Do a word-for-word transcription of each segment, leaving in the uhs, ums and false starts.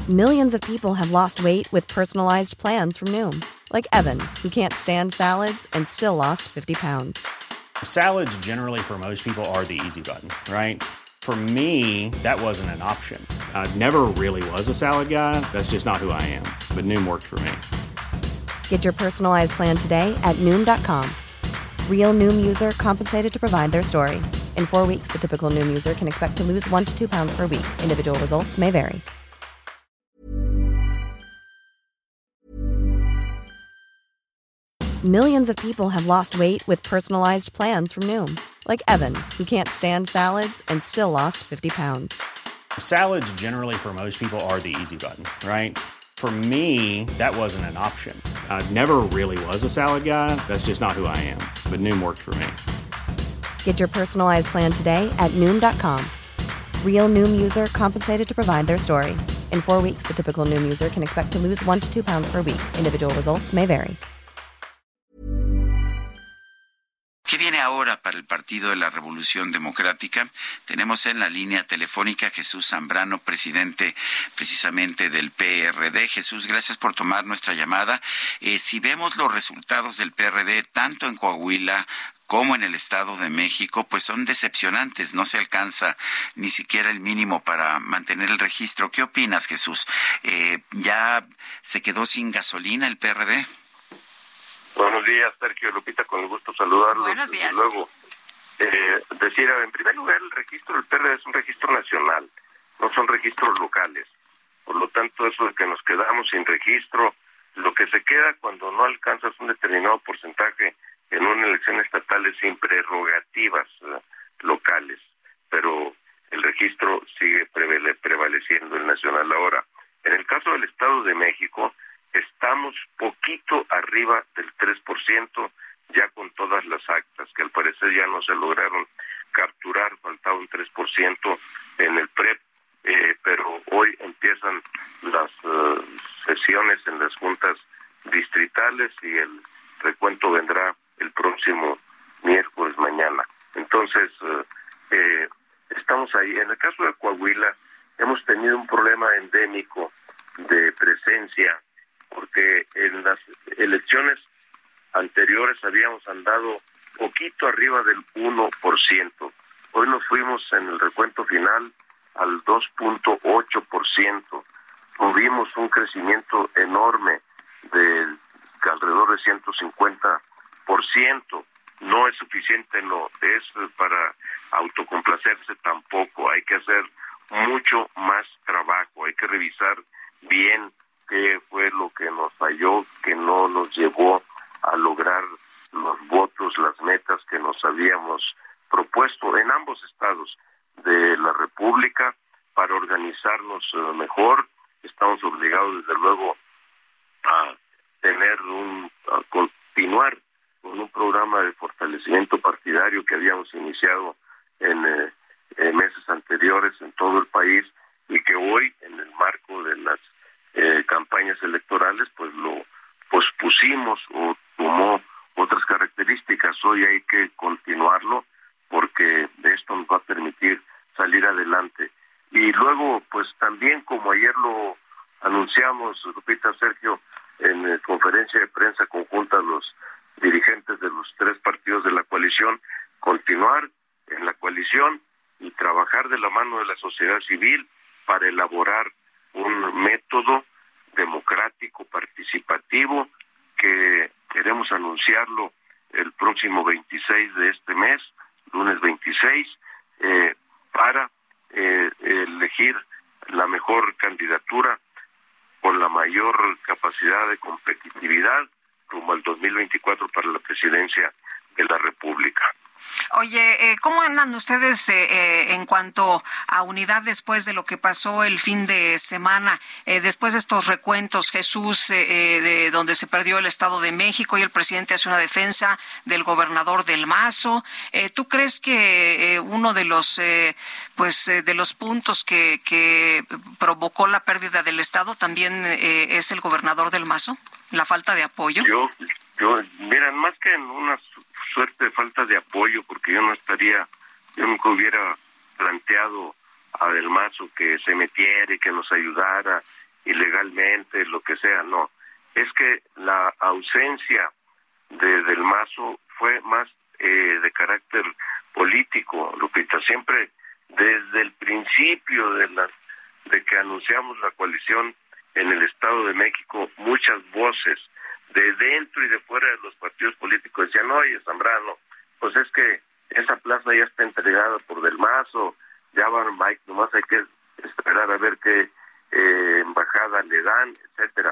Millions of people have lost weight with personalized plans from Noom. Like Evan, who can't stand salads and still lost fifty pounds. Salads generally for most people are the easy button, right? For me, that wasn't an option. I never really was a salad guy. That's just not who I am. But Noom worked for me. Get your personalized plan today at Noom dot com. Real Noom user compensated to provide their story. In four weeks, the typical Noom user can expect to lose one to two pounds per week. Individual results may vary. Millions of people have lost weight with personalized plans from Noom. Like Evan, who can't stand salads and still lost fifty pounds. Salads generally for most people are the easy button, right? For me, that wasn't an option. I never really was a salad guy. That's just not who I am. But Noom worked for me. Get your personalized plan today at Noom dot com. Real Noom user compensated to provide their story. In four weeks, the typical Noom user can expect to lose one to two pounds per week. Individual results may vary. ¿Qué viene ahora para el Partido de la Revolución Democrática? Tenemos en la línea telefónica a Jesús Zambrano, presidente precisamente del P R D. Jesús, gracias por tomar nuestra llamada. Eh, si vemos los resultados del P R D, tanto en Coahuila como en el Estado de México, pues son decepcionantes. No se alcanza ni siquiera el mínimo para mantener el registro. ¿Qué opinas, Jesús? Eh, ¿Ya se quedó sin gasolina el P R D? Buenos días, Sergio, Lupita, con el gusto saludarlos. Buenos días. Desde luego, eh, decir, en primer lugar, el registro del P R D es un registro nacional, no son registros locales. Por lo tanto, eso de que nos quedamos sin registro, lo que se queda cuando no alcanzas un determinado porcentaje en una elección estatal es sin prerrogativas eh, locales, pero el registro sigue prevale, prevaleciendo el nacional. Ahora, en el caso del Estado de México, estamos poquito arriba del tres por ciento, ya con todas las actas, que al parecer ya no se lograron capturar, faltaba un tres por ciento en el P R E P, eh, pero hoy empiezan las uh, sesiones en las juntas distritales y el recuento vendrá el próximo miércoles mañana. Entonces, uh, eh, estamos ahí. En el caso de Coahuila, hemos tenido un problema endémico de presencia, porque en las elecciones anteriores habíamos andado poquito arriba del uno por ciento. Hoy nos fuimos en el recuento final al dos punto ocho por ciento. Tuvimos un crecimiento enorme de alrededor de ciento cincuenta por ciento. No es suficiente, no es para autocomplacerse tampoco. Hay que hacer mucho más trabajo, hay que revisar bien qué fue lo que nos falló, que no nos llevó a lograr los votos, las metas que nos habíamos propuesto en ambos estados de la República para organizarnos uh, mejor. Estamos obligados, desde luego, a tener un, a continuar con un programa de fortalecimiento partidario que habíamos iniciado en eh, eh, meses anteriores en todo el país y que hoy, en el marco de las Eh, campañas electorales, pues lo pospusimos o tomó otras características. Hoy hay que continuarlo porque esto nos va a permitir salir adelante. Y luego, pues también, como ayer lo anunciamos, Lupita, Sergio, en eh, conferencia de prensa conjunta los dirigentes de los tres partidos de la coalición, continuar en la coalición y trabajar de la mano de la sociedad civil para elaborar un método democrático, participativo, que queremos anunciarlo el próximo veintiséis de este mes, lunes veintiséis, eh, para eh, elegir la mejor candidatura con la mayor capacidad de competitividad rumbo al dos mil veinticuatro para la presidencia de la República. Oye, eh, ¿cómo andan ustedes eh, eh, en cuanto a unidad después de lo que pasó el fin de semana? Eh, después de estos recuentos, Jesús, eh, eh, de donde se perdió el Estado de México y el presidente hace una defensa del gobernador del Mazo. Eh, ¿Tú crees que eh, uno de los eh, pues eh, de los puntos que, que provocó la pérdida del Estado también eh, es el gobernador del Mazo? ¿La falta de apoyo? Yo, yo, miren, más que en una suerte de falta de apoyo, porque yo no estaría, yo nunca hubiera planteado a Del Mazo que se metiera y que nos ayudara ilegalmente, lo que sea, no. Es que la ausencia de Del Mazo fue más eh, de carácter político, Lupita. Siempre desde el principio de la de que anunciamos la coalición en el Estado de México, muchas voces de dentro y de fuera de los partidos políticos decían, oye, Zambrano, pues es que esa plaza ya está entregada por Del Mazo, ya van Mike, nomás hay que esperar a ver qué eh, embajada le dan, etcétera.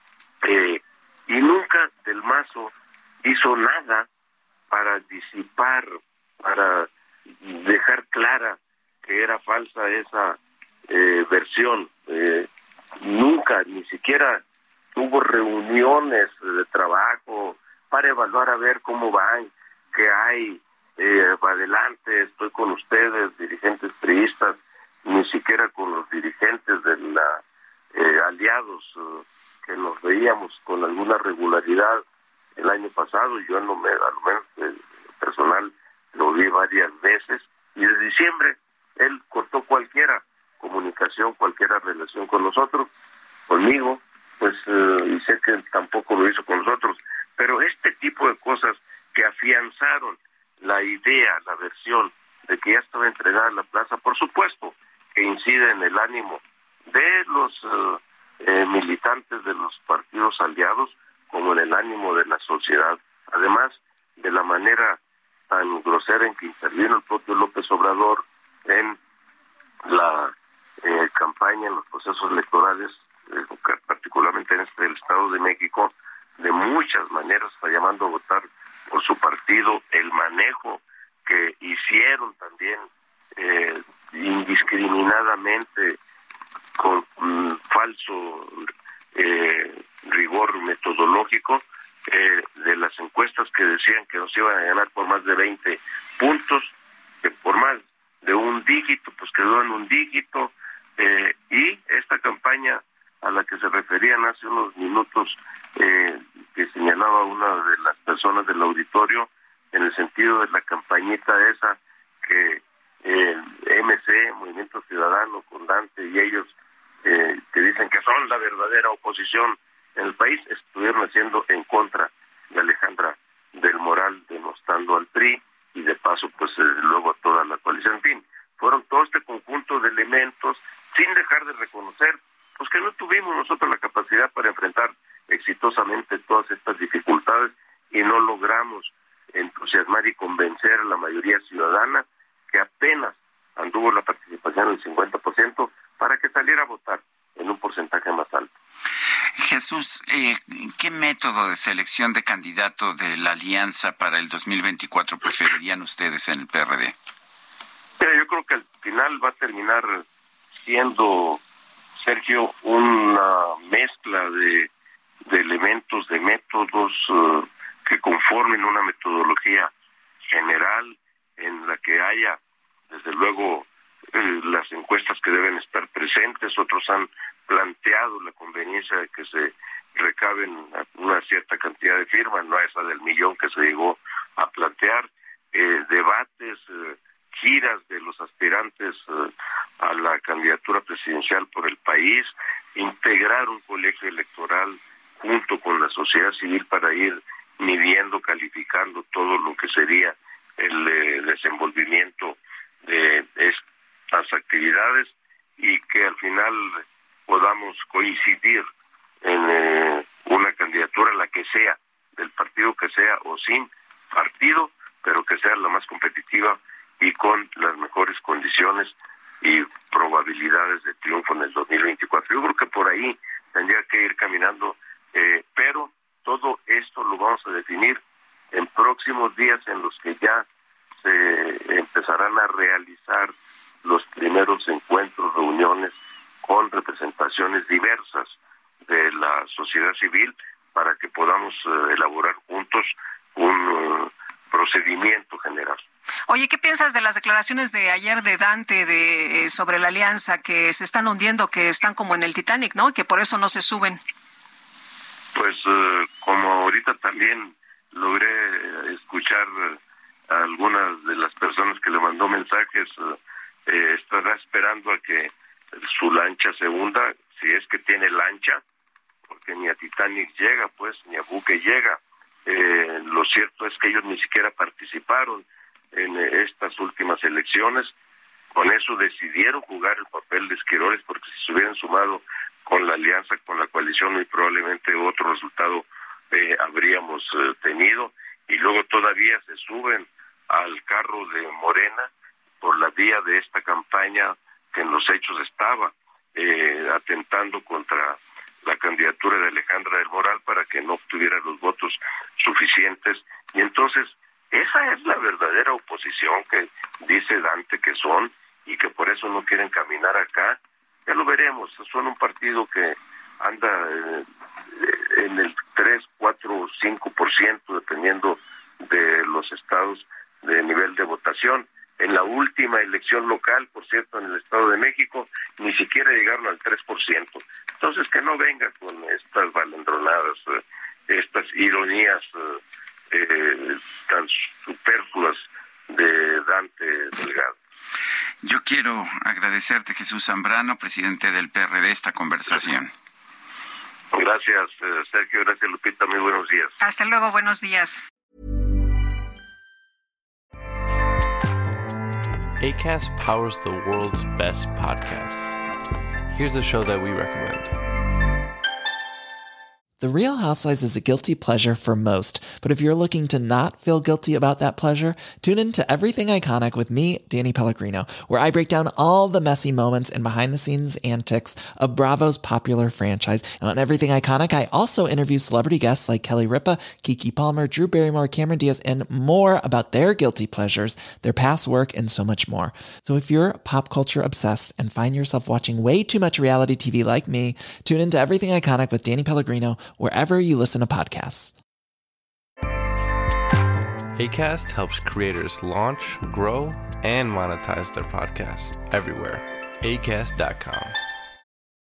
Eh, y nunca Del Mazo hizo nada para disipar, para dejar clara que era falsa esa eh, versión. Eh, nunca, ni siquiera hubo reuniones de trabajo para evaluar a ver cómo van, qué hay, eh, adelante, estoy con ustedes, dirigentes priistas, ni siquiera con los dirigentes de la eh, aliados eh, que nos veíamos con alguna regularidad el año pasado. Yo no me, a lo menos eh, personal, lo vi varias veces, y de diciembre él cortó cualquiera comunicación, cualquiera relación con nosotros, conmigo, pues, eh, y sé que tampoco lo hizo con nosotros, pero este tipo de cosas que afianzaron la idea, la versión de que ya estaba entregada la plaza, por supuesto que incide en el ánimo de los eh, eh, militantes de los partidos aliados, como en el ánimo de la sociedad, además de la manera tan grosera en que intervino el propio López Obrador en la eh, campaña, en los procesos electorales, eh, particularmente en este el Estado de México, de muchas maneras, está llamando a votar por su partido, el manejo que hicieron también eh, indiscriminadamente con um, falso eh, rigor metodológico eh, de las encuestas que decían que nos iban a ganar por más de veinte puntos, que por más de un dígito, pues quedó en un dígito, eh, y esta campaña a la que se referían hace unos minutos, eh, que señalaba una de las personas del auditorio, en el sentido de la campañita esa que eh, M C, Movimiento Ciudadano, con Dante y ellos, eh, que dicen que son la verdadera oposición en el país, estuvieron haciendo en contra de Alejandra del Moral, denostando al P R I y de paso pues eh, luego a toda la coalición. En fin, fueron todo este conjunto de elementos, sin dejar de reconocer pues que no tuvimos nosotros la capacidad para enfrentar exitosamente todas estas dificultades y no logramos entusiasmar y convencer a la mayoría ciudadana, que apenas anduvo la participación del cincuenta por ciento, para que saliera a votar en un porcentaje más alto. Jesús, eh, ¿qué método de selección de candidato de la alianza para el dos mil veinticuatro preferirían ustedes en el P R D? Mira, yo creo que al final va a terminar siendo, Sergio, una mezcla de, de elementos, de métodos uh, que conformen una metodología general en la que haya, desde luego, eh, las encuestas que deben estar presentes. Otros han planteado la conveniencia de que se recaben una cierta cantidad de firmas, no esa del millón que se llegó a plantear, eh, debates, eh, giras de los aspirantes eh, a la candidatura presidencial por el país, integrar un colegio electoral junto con la sociedad civil para ir midiendo, calificando todo lo que sería el eh, desenvolvimiento de estas actividades, y que al final podamos coincidir en eh, una candidatura, la que sea, del partido que sea o sin partido, pero que sea la más competitiva y con las mejores condiciones y probabilidades de triunfo en el dos mil veinticuatro. Yo creo que por ahí tendría que ir caminando, eh, pero todo esto lo vamos a definir en próximos días, en los que ya se empezarán a realizar los primeros encuentros, reuniones con representaciones diversas de la sociedad civil, para que podamos uh, elaborar juntos un uh, procedimiento general. Oye, ¿qué piensas de las declaraciones de ayer de Dante de eh, sobre la alianza, que se están hundiendo, que están como en el Titanic, ¿no? Y que por eso no se suben. Pues uh, como ahorita también logré escuchar uh, a algunas de las personas que le mandó mensajes, uh, eh, estará esperando a que su lancha se hunda. si es que tiene lancha, porque ni a Titanic llega, pues, ni a buque llega. Eh, lo cierto es que ellos ni siquiera participaron en eh, estas últimas elecciones. Con eso decidieron jugar el papel de esquiroles, porque si se hubieran sumado con la alianza, con la coalición, muy probablemente otro resultado eh, habríamos eh, tenido. Y luego todavía se suben al carro de Morena por la vía de esta campaña que en los hechos estaba eh, atentando contra la candidatura de Alejandra del Moral para que no obtuviera los votos suficientes. Y entonces esa es la verdadera oposición que dice Dante que son, y que por eso no quieren caminar acá. Ya lo veremos, son un partido que anda eh, en el tres, cuatro, cinco por ciento dependiendo de los estados de nivel de votación. En la última elección local, por cierto, en el Estado de México, ni siquiera llegaron al tres por ciento. Entonces, que no venga con estas balandronadas, eh, estas ironías eh, eh, tan superfluas de Dante Delgado. Yo quiero agradecerte, Jesús Zambrano, presidente del P R D, esta conversación. Gracias, eh, Sergio. Gracias, Lupita. Muy buenos días. Hasta luego. Buenos días. Acast powers the world's best podcasts. Here's a show that we recommend. The Real Housewives is a guilty pleasure for most, but if you're looking to not feel guilty about that pleasure, tune in to Everything Iconic with me, Danny Pellegrino, where I break down all the messy moments and behind-the-scenes antics of Bravo's popular franchise. And on Everything Iconic, I also interview celebrity guests like Kelly Ripa, Keke Palmer, Drew Barrymore, Cameron Diaz, and more about their guilty pleasures, their past work, and so much more. So if you're pop culture obsessed and find yourself watching way too much reality T V like me, tune in to Everything Iconic with Danny Pellegrino, wherever you listen to podcasts. Acast helps creators launch, grow, and monetize their podcasts everywhere. Acast dot com.